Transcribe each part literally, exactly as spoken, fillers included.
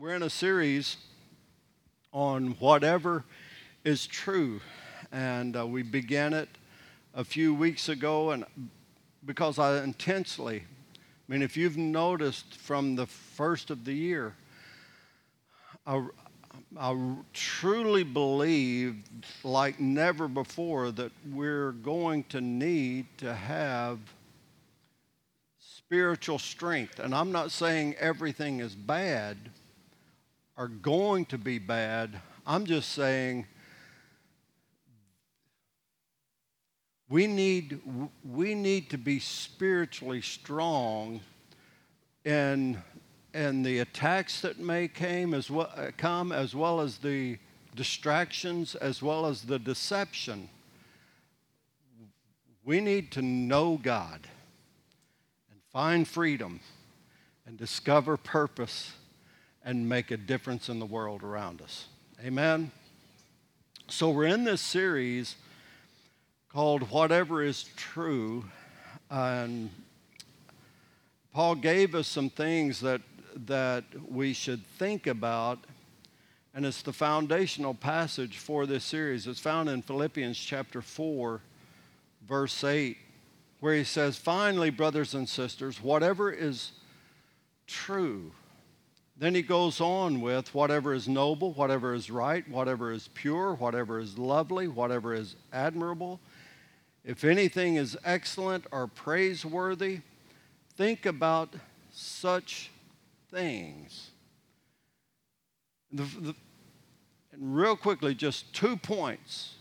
We're in a series on whatever is true, and uh, we began it a few weeks ago, and because I intensely, I mean, if you've noticed from the first of the year, I, I truly believe, like never before, that we're going to need to have spiritual strength. And I'm not saying everything is bad or going to be bad. I'm just saying we need we need to be spiritually strong in in the attacks that may came as well come as well as the distractions as well as the deception. We need to know God and find freedom and discover purpose and make a difference in the world around us. Amen? So we're in this series called Whatever is True, and Paul gave us some things that, that we should think about, and it's the foundational passage for this series. It's found in Philippians chapter four, verse eight, where he says, "Finally, brothers and sisters, whatever is true." Then he goes on with whatever is noble, whatever is right, whatever is pure, whatever is lovely, whatever is admirable. If anything is excellent or praiseworthy, think about such things. The, the, and real quickly, just two points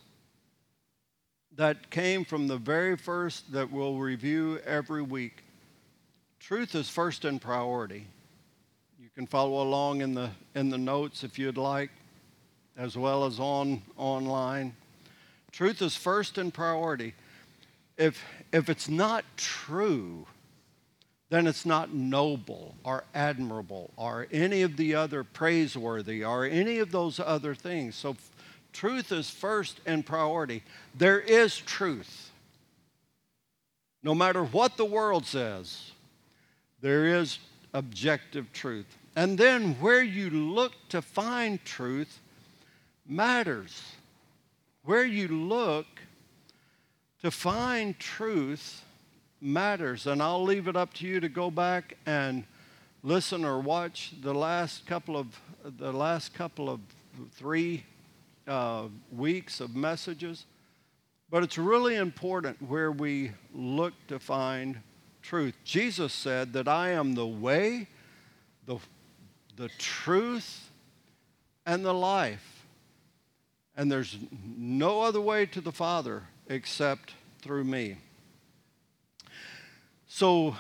that came from the very first that we'll review every week. Truth is first in priority. You can follow along in the in the notes if you'd like, as well as on online. Truth is first in priority. If if it's not true, then it's not noble or admirable or any of the other praiseworthy or any of those other things. So f- truth is first in priority. There is truth. No matter what the world says, there is objective truth. And then where you look to find truth matters. Where you look to find truth matters. And I'll leave it up to you to go back and listen or watch the last couple of the last couple of three uh, weeks of messages. But it's really important where we look to find truth. Jesus said that I am the way, the, the truth, and the life. And there's no other way to the Father except through me. So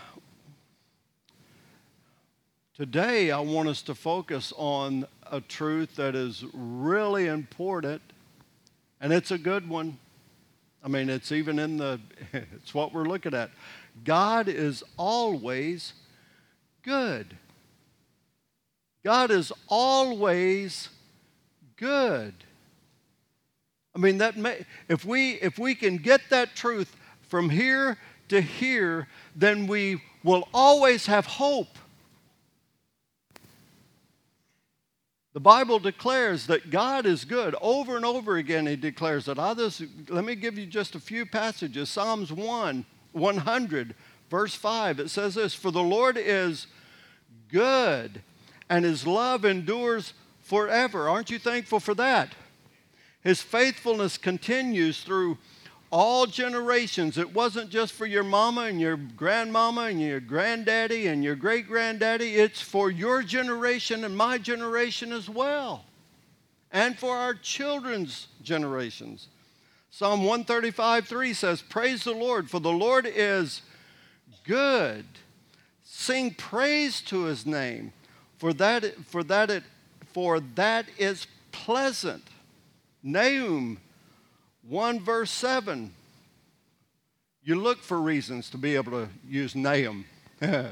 today I want us to focus on a truth that is really important, and it's a good one. I mean, it's even in the, it's what we're looking at. God is always good. God is always good. I mean, that may, if we if we can get that truth from here to here, then we will always have hope. The Bible declares that God is good. Over and over again, he declares that. I'll just, let me give you just a few passages. Psalms one, one hundred, verse five, it says this, "For the Lord is good, and his love endures forever." Aren't you thankful for that? His faithfulness continues through all generations. It wasn't just for your mama and your grandmama and your granddaddy and your great-granddaddy. It's for your generation and my generation as well, and for our children's generations. Psalm one thirty-five, three says, "Praise the Lord, for the Lord is good. Sing praise to his name, for that, for that, it, for that is pleasant." Nahum one verse seven. You look for reasons to be able to use Nahum. It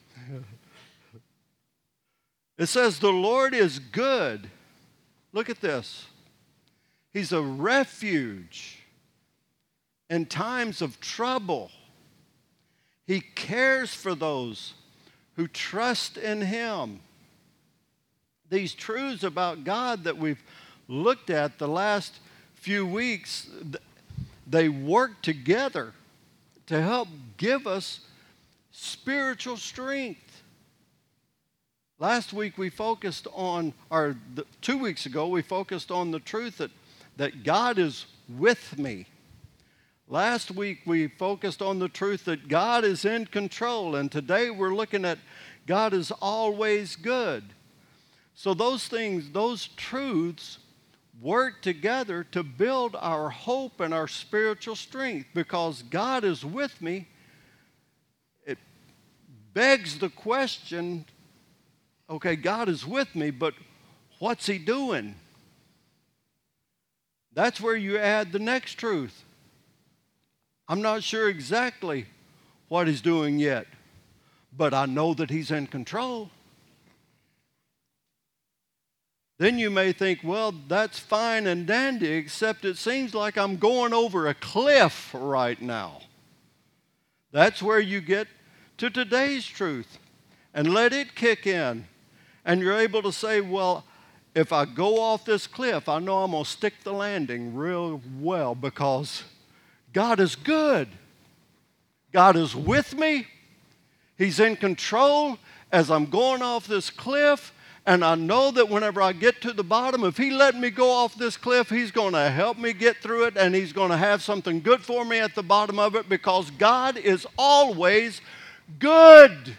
says, "The Lord is good." Look at this. He's a refuge in times of trouble. He cares for those who trust in him. these truths about God that we've looked at the last few weeks, they work together to help give us spiritual strength. Last week we focused on, or the, two weeks ago, we focused on the truth that, that God is with me. Last week we focused on the truth that God is in control, and today we're looking at God is always good. So those things, those truths work together to build our hope and our spiritual strength. Because God is with me, it begs the question, okay, God is with me, but what's He doing? That's where you add the next truth. I'm not sure exactly what He's doing yet, but I know that He's in control. Then you may think, well, that's fine and dandy, except it seems like I'm going over a cliff right now. That's where you get to today's truth and let it kick in. And you're able to say, well, if I go off this cliff, I know I'm going to stick the landing real well because God is good. God is with me. He's in control as I'm going off this cliff. And I know that whenever I get to the bottom, if He let me go off this cliff, He's going to help me get through it, and He's going to have something good for me at the bottom of it, because God is always good,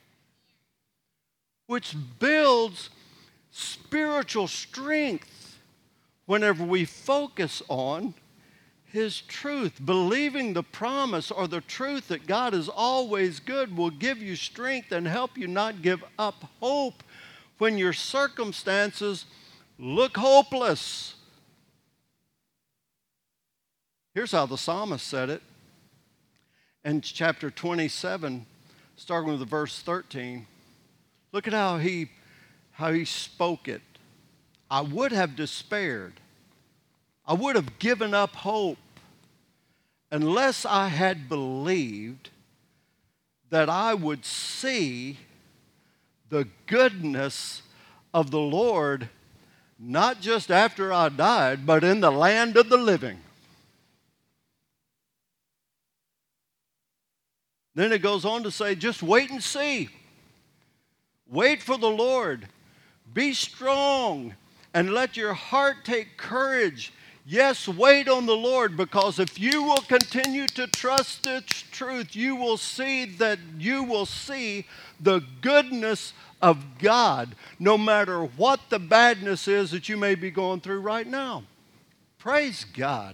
which builds spiritual strength whenever we focus on His truth. Believing the promise or the truth that God is always good will give you strength and help you not give up hope when your circumstances look hopeless. Here's how the psalmist said it in chapter twenty-seven, starting with verse thirteen. Look at how he, how he spoke it. I would have despaired. I would have given up hope unless I had believed that I would see the goodness of the Lord, not just after I died, but in the land of the living. Then it goes on to say, just wait and see. Wait for the Lord. Be strong and let your heart take courage. Yes, wait on the Lord, because if you will continue to trust its truth, you will see that you will see the goodness of God, no matter what the badness is that you may be going through right now. Praise God.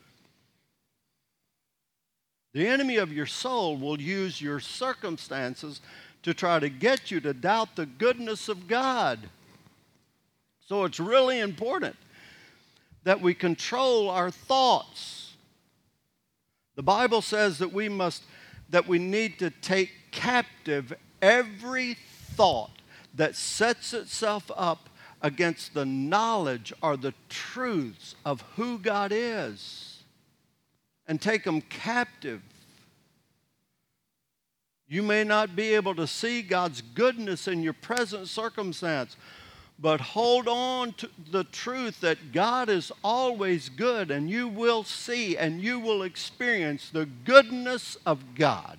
The enemy of your soul will use your circumstances to try to get you to doubt the goodness of God. So it's really important that we control our thoughts. The Bible says that we must, that we need to take captive every thought that sets itself up against the knowledge or the truths of who God is, and take them captive. You may not be able to see God's goodness in your present circumstance, but hold on to the truth that God is always good, and you will see and you will experience the goodness of God.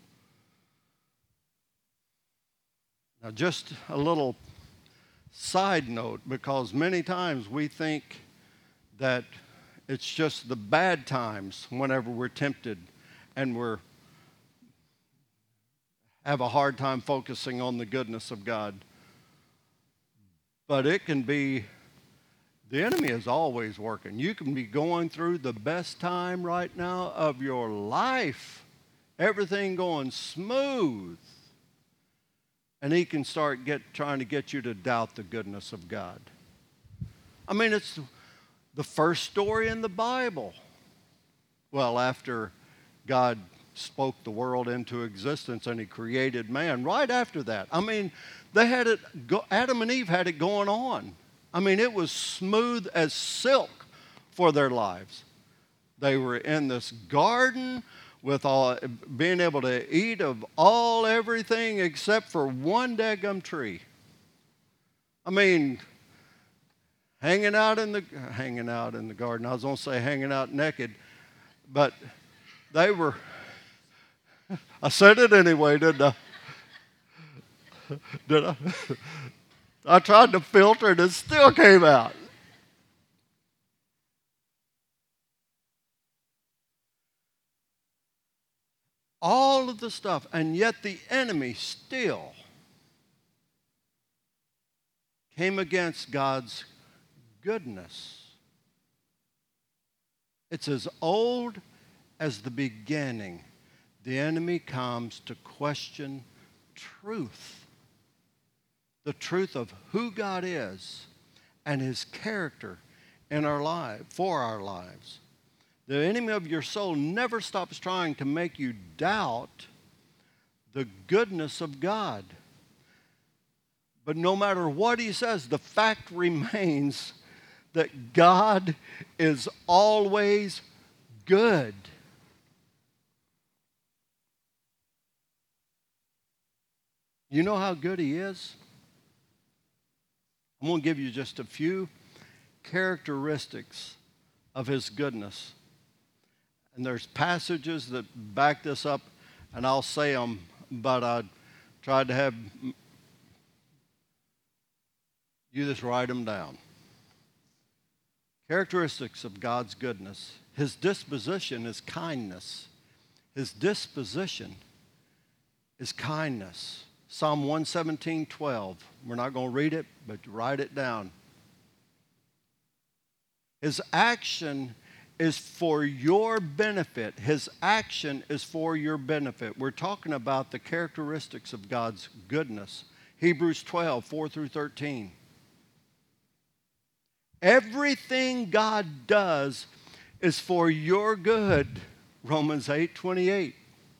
Now, just a little side note, because many times we think that it's just the bad times whenever we're tempted and we're have a hard time focusing on the goodness of God. But it can be, the enemy is always working. You can be going through the best time right now of your life, everything going smooth, and he can start get, trying to get you to doubt the goodness of God. I mean, it's the first story in the Bible. Well, after God spoke the world into existence and he created man, right after that, I mean, they had it, go, Adam and Eve had it going on. I mean, it was smooth as silk for their lives. They were in this garden with all, being able to eat of all everything except for one daggum tree. I mean, hanging out in the hanging out in the garden. I was going to say hanging out naked, but they were. I said it anyway, didn't I? Did I? I tried to filter it, it still came out. All of the stuff, and yet the enemy still came against God's goodness. It's as old as the beginning. The enemy comes to question truth. The truth of who God is and his character in our life, for our lives. The enemy of your soul never stops trying to make you doubt the goodness of God. But no matter what he says, the fact remains that God is always good. You know how good he is? I'm going to give you just a few characteristics of his goodness. And there's passages that back this up, and I'll say them, but I tried to have you just write them down. Characteristics of God's goodness. His disposition is kindness. His disposition is kindness. Psalm one seventeen, twelve. We're not going to read it, but write it down. His action is for your benefit. His action is for your benefit. We're talking about the characteristics of God's goodness. Hebrews twelve, four through thirteen. Everything God does is for your good. Romans eight, twenty-eight.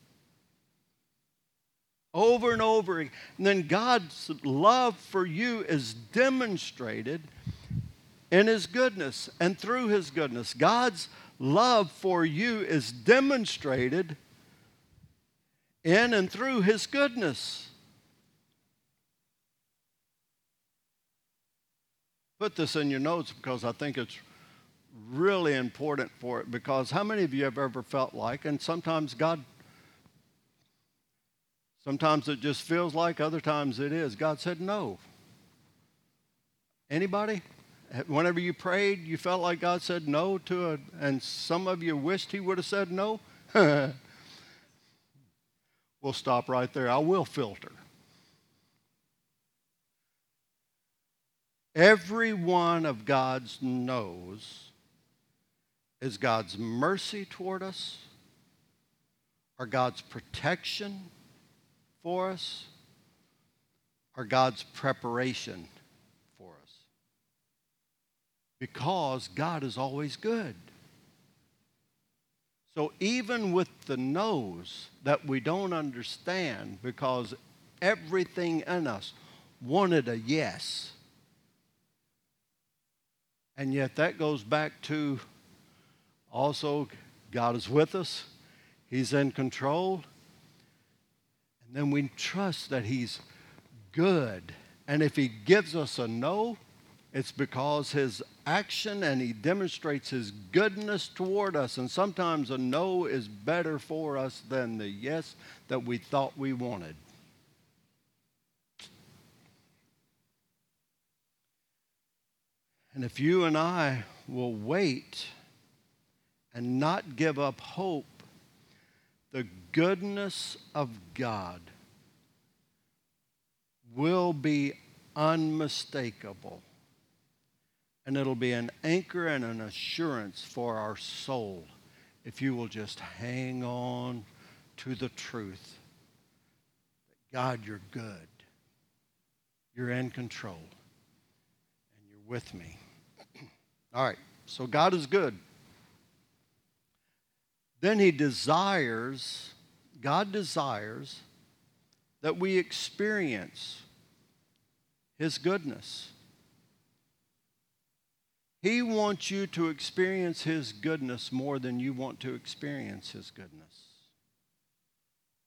Over and over again. And then God's love for you is demonstrated in his goodness and through his goodness. God's love for you is demonstrated in and through his goodness. Put this in your notes because I think it's really important for it. Because how many of you have ever felt like, and sometimes God, sometimes it just feels like, other times it is, God said no. Anybody? Whenever you prayed, you felt like God said no to it, and some of you wished he would have said no? We'll stop right there. I will filter. Every one of God's no's is God's mercy toward us, or God's protection for us, or God's preparation for us. Because God is always good. So even with the no's that we don't understand, because everything in us wanted a yes. And yet that goes back to also God is with us. He's in control. And then we trust that he's good. And if he gives us a no, it's because his action and he demonstrates his goodness toward us. And sometimes a no is better for us than the yes that we thought we wanted. And if you and I will wait and not give up hope, the goodness of God will be unmistakable. And it'll be an anchor and an assurance for our soul if you will just hang on to the truth that God, you're good. You're in control. And you're with me. All right, so God is good. Then he desires, God desires that we experience his goodness. He wants you to experience his goodness more than you want to experience his goodness.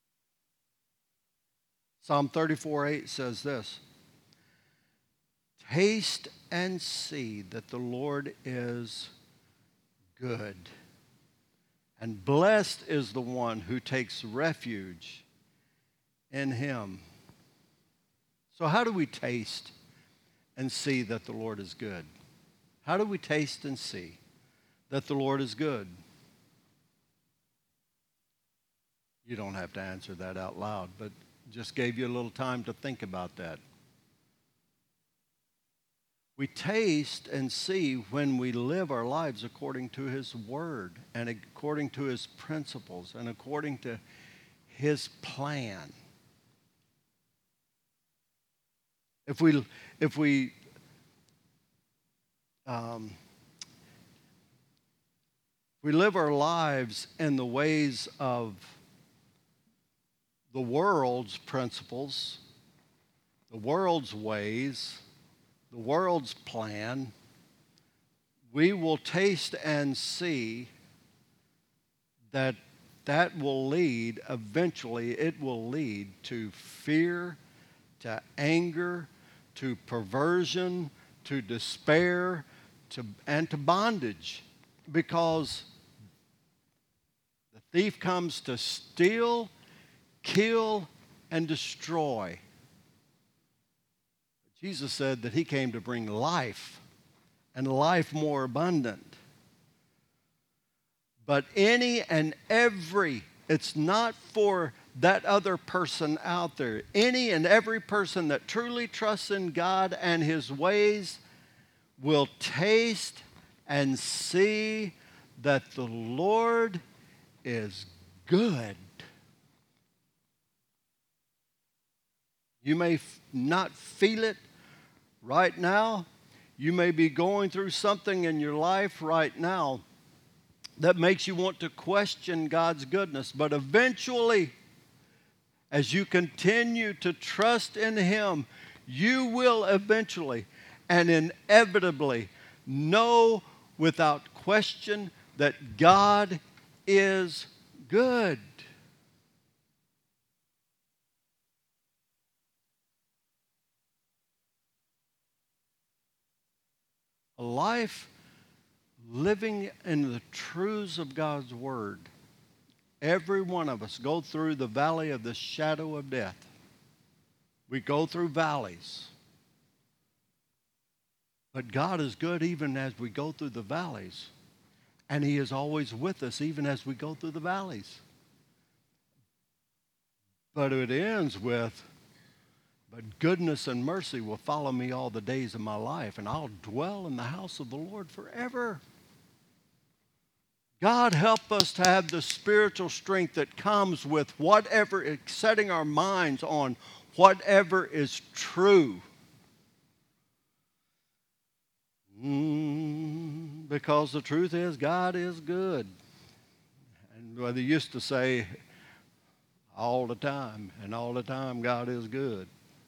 Psalm thirty-four, eight says this, taste and see that the Lord is good. And blessed is the one who takes refuge in him. So how do we taste and see that the Lord is good? How do we taste and see that the Lord is good? You don't have to answer that out loud, but just gave you a little time to think about that. We taste and see when we live our lives according to His Word and according to His principles and according to His plan. If we, if we um, we live our lives in the ways of the world's principles, the world's ways, the world's plan, we will taste and see that that will lead, eventually it will lead to fear, to anger, to perversion, to despair, to, and to bondage. Because the thief comes to steal, kill, and destroy. Jesus said that He came to bring life, and life more abundant. But any and every, it's not for that other person out there. Any and every person that truly trusts in God and His ways will taste and see that the Lord is good. You may f- not feel it right now. You may be going through something in your life right now that makes you want to question God's goodness. But eventually, as you continue to trust in Him, you will eventually and inevitably know without question that God is good. A life living in the truths of God's Word. Every one of us go through the valley of the shadow of death. We go through valleys. But God is good even as we go through the valleys. And He is always with us even as we go through the valleys. But it ends with, but goodness and mercy will follow me all the days of my life, and I'll dwell in the house of the Lord forever. God, help us to have the spiritual strength that comes with whatever, setting our minds on whatever is true. Mm, because the truth is, God is good. And well, they used to say all the time, and all the time, God is good.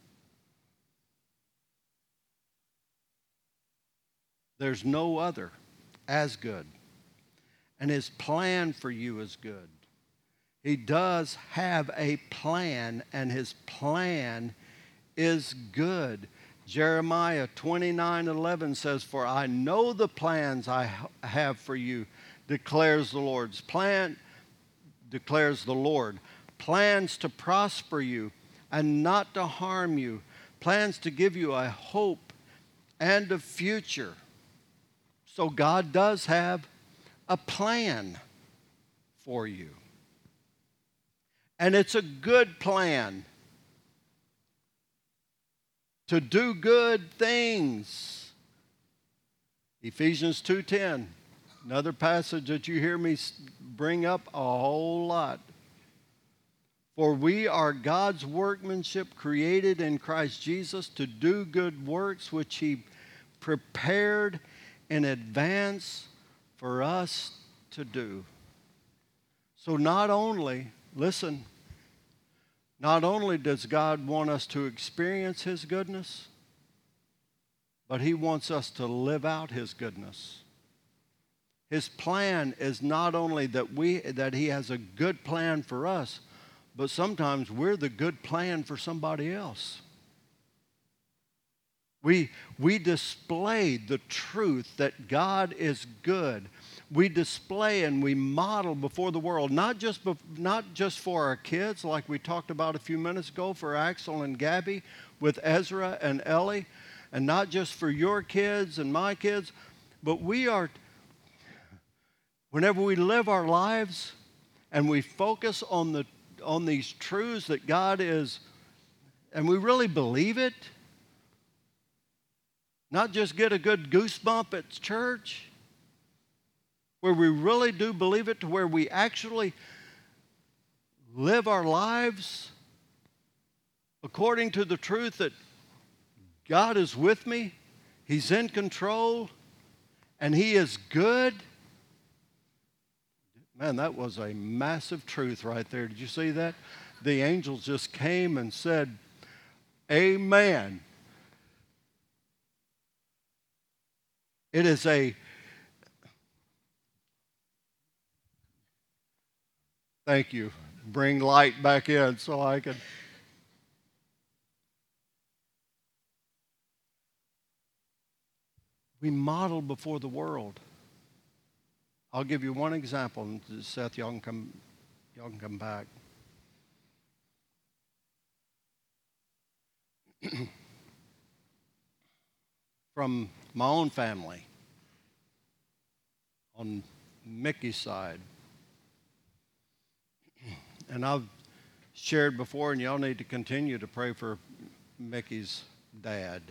There's no other as good. And His plan for you is good. He does have a plan, and His plan is good. Jeremiah twenty-nine eleven says, "For I know the plans I have for you, declares the Lord's plan, declares the Lord. Plans to prosper you and not to harm you. Plans to give you a hope and a future." So God does have a plan for you. And it's a good plan to do good things. Ephesians two ten, another passage that you hear me bring up a whole lot. For we are God's workmanship, created in Christ Jesus to do good works which He prepared in advance for us to do. So not only, listen, not only does God want us to experience His goodness, but He wants us to live out His goodness. His plan is not only that we that He has a good plan for us, but sometimes we're the good plan for somebody else. We, we display the truth that God is good. We display and we model before the world, not just, bef- not just for our kids, like we talked about a few minutes ago, for Axel and Gabby with Ezra and Ellie, and not just for your kids and my kids, but we are, whenever we live our lives and we focus on, the, on these truths that God is, and we really believe it, not just get a good goosebump at church, where we really do believe it, to where we actually live our lives according to the truth that God is with me, He's in control, and He is good. Man, that was a massive truth right there. Did you see that? The angels just came and said, Amen. It is a, thank you, bring light back in so I can. We model before the world. I'll give you one example, and Seth, y'all can come, y'all can come back. From my own family, on Mickey's side. And I've shared before, and y'all need to continue to pray for Mickey's dad.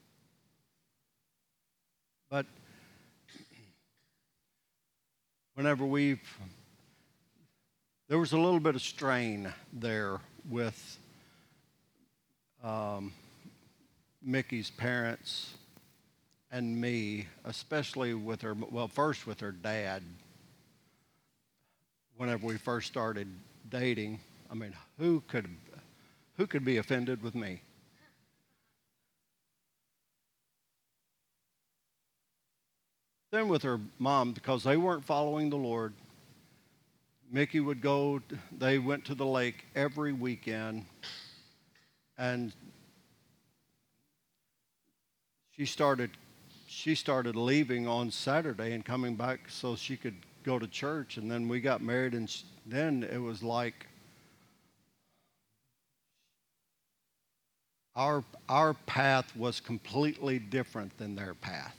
But whenever we've, there was a little bit of strain there with um, Mickey's parents and me, especially with her, well, first with her dad. Whenever we first started dating, I mean, who could, who could be offended with me? Then with her mom, because they weren't following the Lord, Mickey would go, they went to the lake every weekend, and she started she started leaving on Saturday and coming back so she could go to church. And then we got married, and she, then it was like our our path was completely different than their path.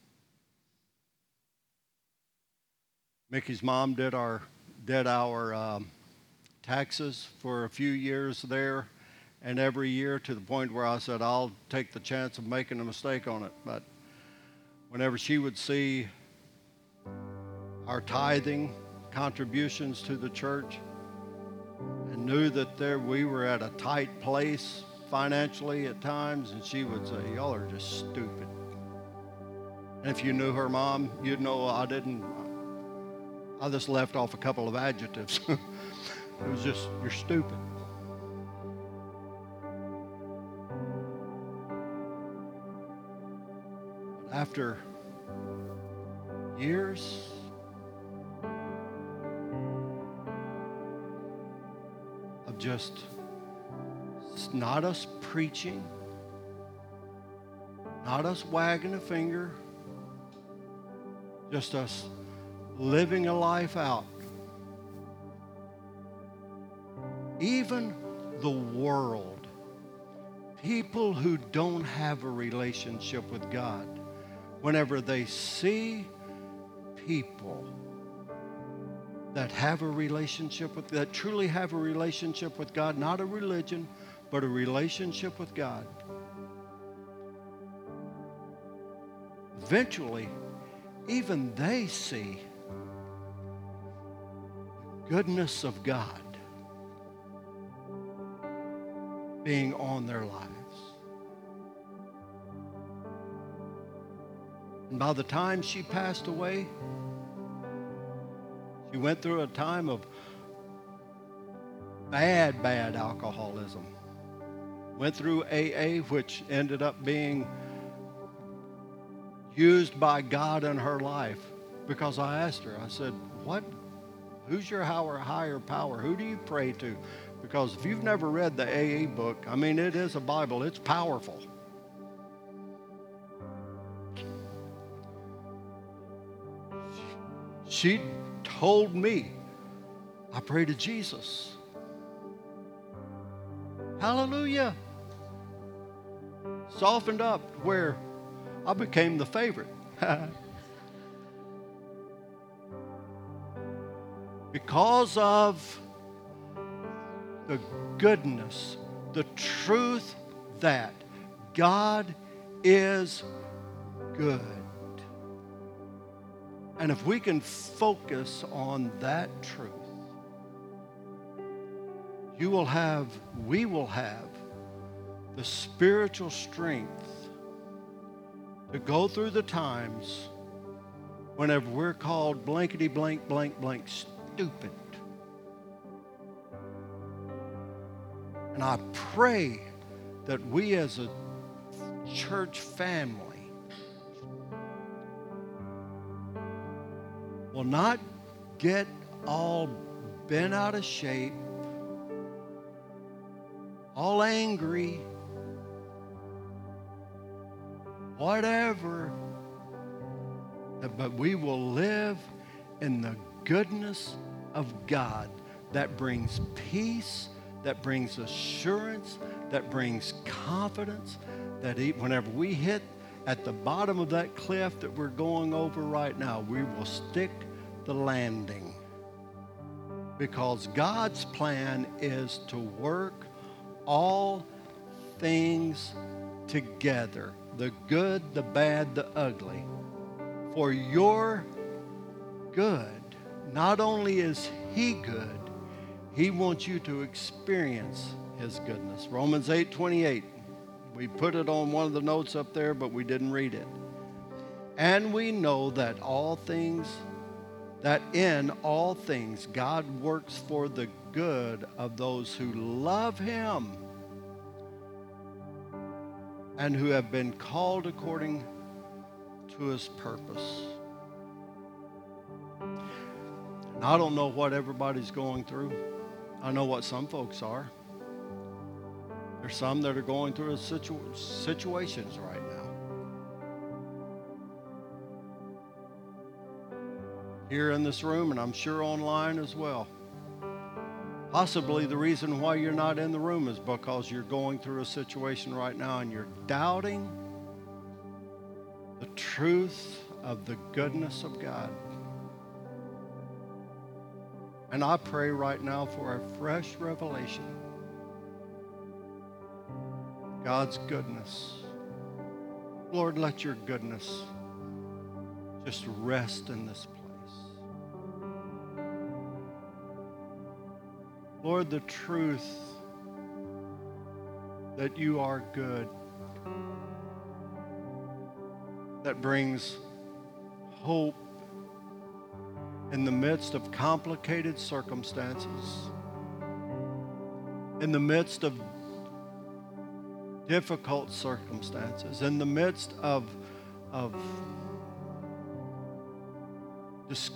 Mickey's mom did our did our um, taxes for a few years there, and every year, to the point where I said, I'll take the chance of making a mistake on it. But whenever she would see our tithing contributions to the church and knew that there we were at a tight place financially at times, and she would say, y'all are just stupid. And if you knew her mom, you'd know I didn't, I just left off a couple of adjectives. It was just, you're stupid. After years of just not us preaching, not us wagging a finger, just us living a life out, even the world, people who don't have a relationship with God, whenever they see people that have a relationship with, that truly have a relationship with God, not a religion, but a relationship with God, eventually, even they see the goodness of God being on their lives. And by the time she passed away, she went through a time of bad, bad alcoholism. Went through A A, which ended up being used by God in her life. Because I asked her, I said, what? Who's your higher power? Who do you pray to? Because if you've never read the A A book, I mean, it is a Bible. It's powerful. She told me, I pray to Jesus. Hallelujah. Softened up where I became the favorite. Because of the goodness, the truth that God is good. And if we can focus on that truth, you will have, we will have the spiritual strength to go through the times whenever we're called blankety blank blank blank stupid. And I pray that we as a church family will not get all bent out of shape, all angry, whatever, but we will live in the goodness of God that brings peace, that brings assurance, that brings confidence, that whenever we hit at the bottom of that cliff that we're going over right now, we will stick the landing. Because God's plan is to work all things together, the good, the bad, the ugly, for your good. Not only is He good, He wants you to experience His goodness. Romans eight twenty-eight. We put it on one of the notes up there, but we didn't read it. And we know that all things, that in all things God works for the good of those who love Him and who have been called according to His purpose. And I don't know what everybody's going through. I know what some folks are. There's some that are going through situ- situations right now. Here in this room, and I'm sure online as well. Possibly the reason why you're not in the room is because you're going through a situation right now and you're doubting the truth of the goodness of God. And I pray right now for a fresh revelation. God's goodness. Lord, let your goodness just rest in this place. Lord, the truth that you are good, that brings hope in the midst of complicated circumstances, in the midst of difficult circumstances, in the midst of, of dis-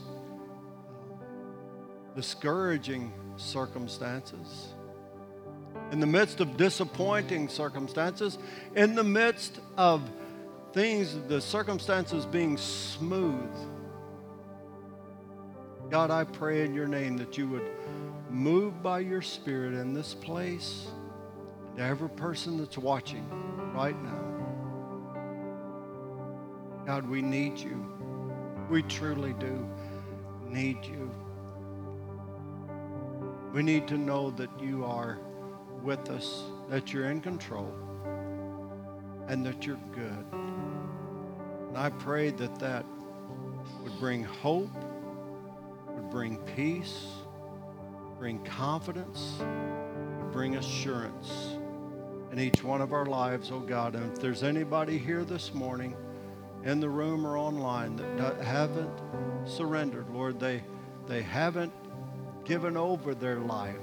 discouraging circumstances, in the midst of disappointing circumstances, in the midst of things, the circumstances being smooth. God, I pray in your name that you would move by your Spirit in this place, to every person that's watching right now. God, we need you. We truly do need you. We need to know that you are with us, that you're in control, and that you're good. And I pray that that would bring hope, would bring peace, bring confidence, would bring assurance in each one of our lives, oh God. And if there's anybody here this morning in the room or online that haven't surrendered, Lord, they, they haven't given over their life.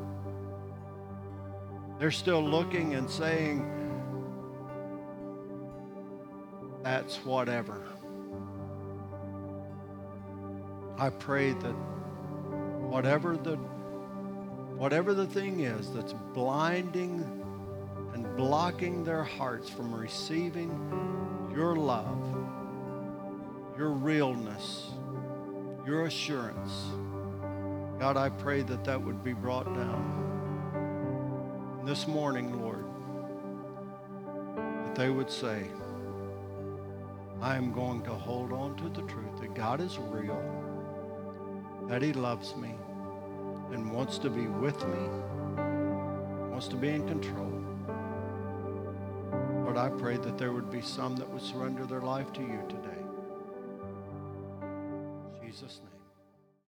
They're still looking and saying, that's whatever. I pray that whatever the whatever the thing is that's blinding and blocking their hearts from receiving your love, your realness, your assurance. God, I pray that that would be brought down. And this morning, Lord, that they would say, I am going to hold on to the truth that God is real, that he loves me and wants to be with me, wants to be in control. Lord, I pray that there would be some that would surrender their life to you today. In Jesus' name.